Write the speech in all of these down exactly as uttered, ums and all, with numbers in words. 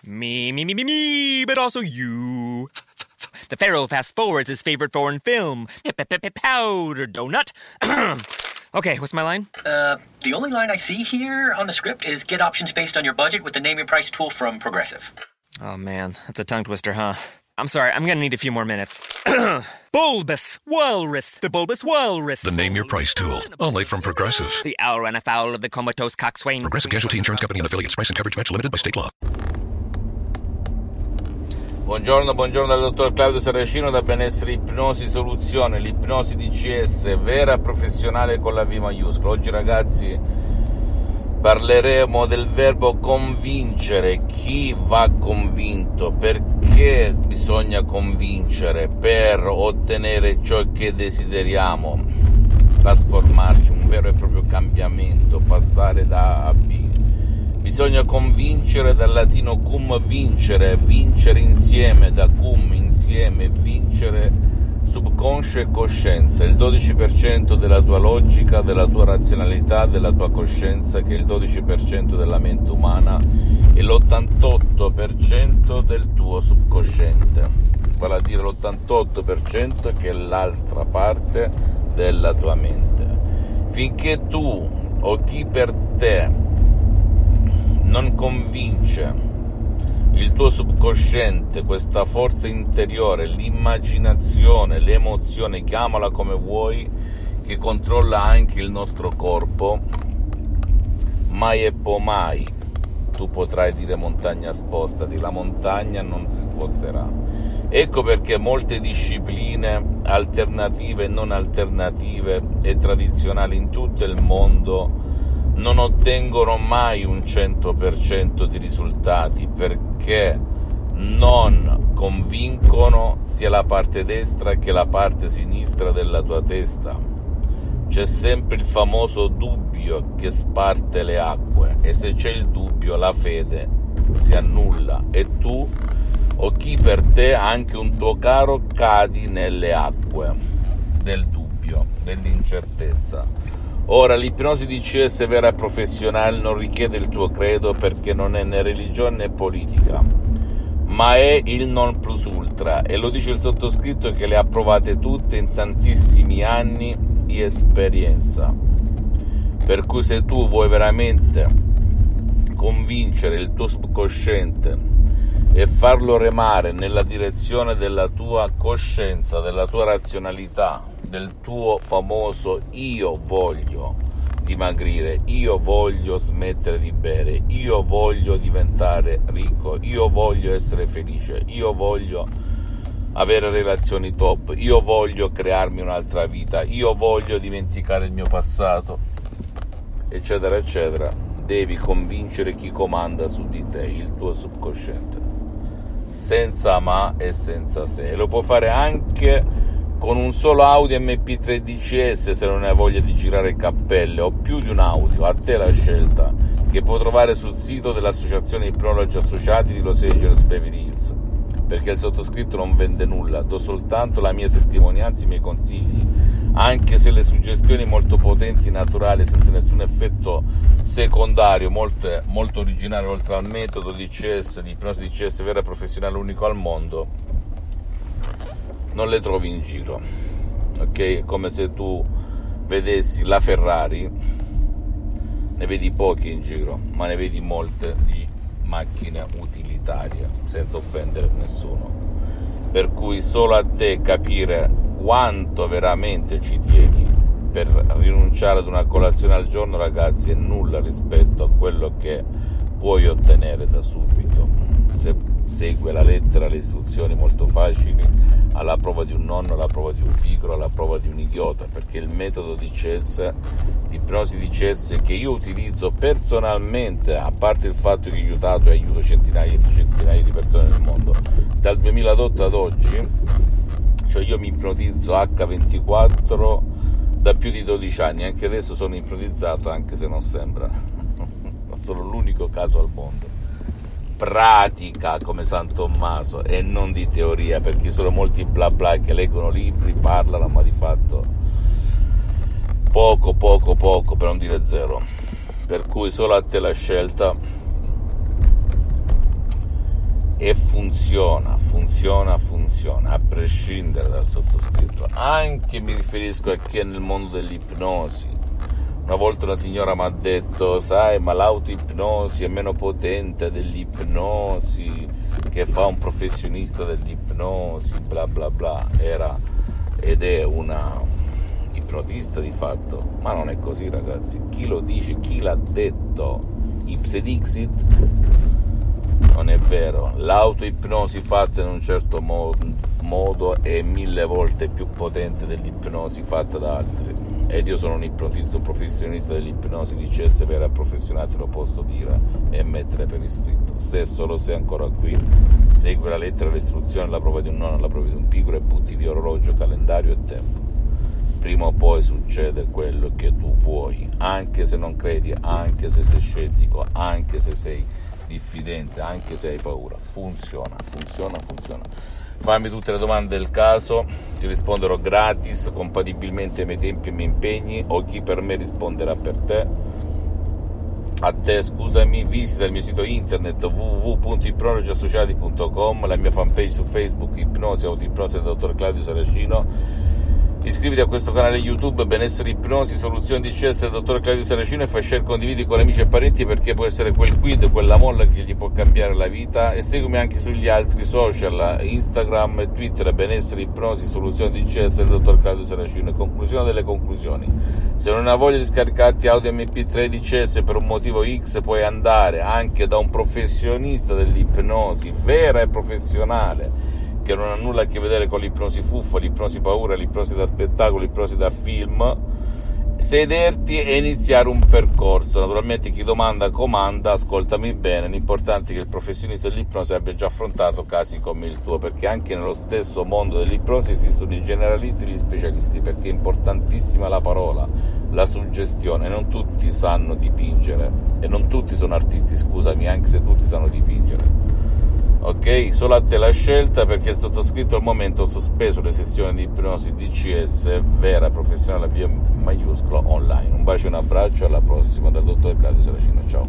Me, me, me, me, me, but also you. The Pharaoh fast forwards his favorite foreign film, Powder Donut. Okay, what's my line? Uh, the only line I see here on the script is get options based on your budget with the Name Your Price tool from Progressive. Oh man, that's a tongue twister, huh? I'm sorry, I'm gonna need a few more minutes. Bulbous Walrus, the Bulbous Walrus. The Name Your Price tool, only from Progressive. The owl ran afoul of the comatose coxswain. Progressive Casualty Insurance Company and affiliates. Price and coverage match limited by state law. Buongiorno, buongiorno dal dottor Claudio Saracino da Benessere Ipnosi Soluzione, l'ipnosi D C S vera professionale con la V maiuscola. Oggi ragazzi parleremo del verbo convincere. Chi va convinto? Perché bisogna convincere? Per ottenere ciò che desideriamo, trasformarci, un vero e proprio cambiamento, passare da A a B. Bisogna convincere, dal latino cum vincere, vincere insieme, da cum insieme, vincere subconscio e coscienza, il dodici per cento della tua logica, della tua razionalità, della tua coscienza, che è il dodici per cento della mente umana, e l'ottantotto per cento del tuo subconsciente, vale a dire l'ottantotto per cento che è l'altra parte della tua mente. Finché tu o chi per te non convince il tuo subconsciente, questa forza interiore, l'immaginazione, l'emozione, chiamala come vuoi, che controlla anche il nostro corpo, mai e poi mai tu potrai dire montagna spostati, la montagna non si sposterà. Ecco perché molte discipline alternative e non alternative e tradizionali in tutto il mondo non ottengono mai un cento per cento di risultati, perché non convincono sia la parte destra che la parte sinistra della tua testa. C'è sempre il famoso dubbio che sparte le acque, e se c'è il dubbio la fede si annulla e tu o chi per te, anche un tuo caro, cadi nelle acque del dubbio, dell'incertezza. Ora, l'ipnosi D C S vera e professionale non richiede il tuo credo, perché non è né religione né politica, ma è il non plus ultra, e lo dice il sottoscritto che le ha provate tutte in tantissimi anni di esperienza. Per cui se tu vuoi veramente convincere il tuo subconsciente e farlo remare nella direzione della tua coscienza, della tua razionalità, del tuo famoso io voglio dimagrire, io voglio smettere di bere, io voglio diventare ricco, io voglio essere felice, io voglio avere relazioni top, io voglio crearmi un'altra vita, io voglio dimenticare il mio passato, eccetera eccetera, devi convincere chi comanda su di te, il tuo subconsciente, senza ma e senza se. E lo puoi fare anche con un solo audio M P tre D C S, se non hai voglia di girare cappelle, o più di un audio, a te la scelta, che puoi trovare sul sito dell'Associazione Ipnologi Associati di Los Angeles Beverly Hills, perché il sottoscritto non vende nulla, do soltanto la mia testimonianza, i miei consigli, anche se le suggestioni molto potenti, naturali, senza nessun effetto secondario, molto, molto originale, oltre al metodo D C S, di ipnosi D C S vera e professionale unico al mondo, non le trovi in giro, ok? È come se tu vedessi la Ferrari, ne vedi poche in giro, ma ne vedi molte di macchine utilitarie, senza offendere nessuno. Per cui solo a te capire quanto veramente ci tieni per rinunciare ad una colazione al giorno, ragazzi, è nulla rispetto a quello che puoi ottenere da subito, se segue la lettera, le istruzioni molto facili, alla prova di un nonno, alla prova di un pigro, alla prova di un idiota, perché il metodo D C S, di ipnosi D C S, che io utilizzo personalmente, a parte il fatto che ho aiutato e aiuto centinaia di centinaia di persone nel mondo dal duemiladotto ad oggi, cioè io mi ipnotizzo acca ventiquattro da più di dodici anni, anche adesso sono ipnotizzato, anche se non sembra, sono l'unico caso al mondo. Pratica come San Tommaso e non di teoria, perché sono molti bla bla che leggono libri, parlano, ma di fatto poco poco poco, per non dire zero. Per cui solo a te la scelta, e funziona, funziona, funziona, a prescindere dal sottoscritto. Anche mi riferisco a chi è nel mondo dell'ipnosi. Una volta una signora mi ha detto: sai, ma l'autoipnosi è meno potente dell'ipnosi che fa un professionista dell'ipnosi, bla bla bla. Era ed è una ipnotista di fatto, ma non è così, ragazzi. Chi lo dice, chi l'ha detto, ipse dixit, non è vero. L'autoipnosi fatta in un certo mo- modo è mille volte più potente dell'ipnosi fatta da altri. Ed io sono un ipnotista, un professionista dell'ipnosi di C S vera professionale, lo posso dire e mettere per iscritto. Se solo sei ancora qui, segui la lettera, l'istruzione, la prova di un no, la prova di un piccolo e butti via orologio, calendario e tempo. Prima o poi succede quello che tu vuoi, anche se non credi, anche se sei scettico, anche se sei diffidente, anche se hai paura. Funziona, funziona, funziona. Fammi tutte le domande del caso, ti risponderò gratis, compatibilmente ai miei tempi e ai miei impegni, o chi per me risponderà per te. A te, scusami, visita il mio sito internet w w w punto ipnologiassociati punto com, la mia fanpage su Facebook, Ipnosi, Autoipnosi del dottor Claudio Saracino. Iscriviti a questo canale YouTube, Benessere Ipnosi, Soluzioni di C S del dottor Claudio Saracino, e fai share, condividi con amici e parenti, perché può essere quel quid, quella molla che gli può cambiare la vita. E seguimi anche sugli altri social, Instagram e Twitter, Benessere Ipnosi, Soluzioni di C S del dottor Claudio Saracino. E conclusione delle conclusioni: se non hai voglia di scaricarti audio M P tre di C S per un motivo X, puoi andare anche da un professionista dell'ipnosi vera e professionale, che non ha nulla a che vedere con l'ipnosi fuffa, l'ipnosi paura, l'ipnosi da spettacolo, l'ipnosi da film, sederti e iniziare un percorso. Naturalmente chi domanda comanda, ascoltami bene, l'importante è che il professionista dell'ipnosi abbia già affrontato casi come il tuo, perché anche nello stesso mondo dell'ipnosi esistono i generalisti e gli specialisti, perché è importantissima la parola, la suggestione. Non tutti sanno dipingere e non tutti sono artisti, scusami, anche se tutti sanno dipingere. Ok, solo a te la scelta, perché il sottoscritto al momento ha sospeso le sessioni di ipnosi D C S vera professionale via maiuscolo online. Un bacio e un abbraccio, alla prossima dal dottor Claudio Saracino, ciao.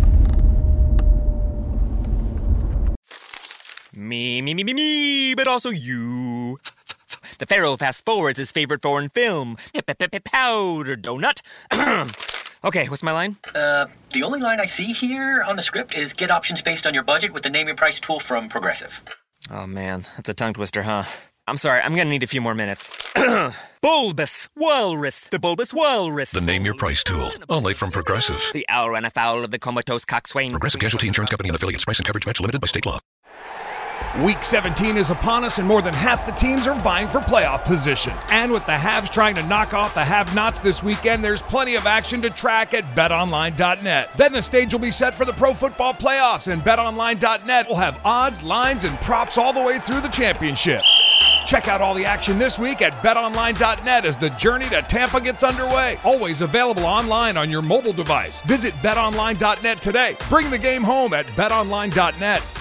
Me, me, me, me, me, but also you. The Pharaoh fast forwards his favorite foreign film, Powder Donut. Okay, what's my line? Uh, the only line I see here on the script is get options based on your budget with the Name Your Price tool from Progressive. Oh man, that's a tongue twister, huh? I'm sorry, I'm gonna need a few more minutes. Bulbous Walrus, the Bulbous Walrus. The Name Your Price tool, only from Progressive. The owl ran afoul of the comatose coxswain. Progressive Casualty Insurance Company and affiliates. Price and coverage match limited by state law. Week seventeen is upon us, and more than half the teams are vying for playoff position. And with the haves trying to knock off the have-nots this weekend, there's plenty of action to track at bet online dot net. Then the stage will be set for the pro football playoffs, and bet online dot net will have odds, lines, and props all the way through the championship. Check out all the action this week at bet online dot net as the journey to Tampa gets underway. Always available online on your mobile device. Visit bet online dot net today. Bring the game home at bet online dot net.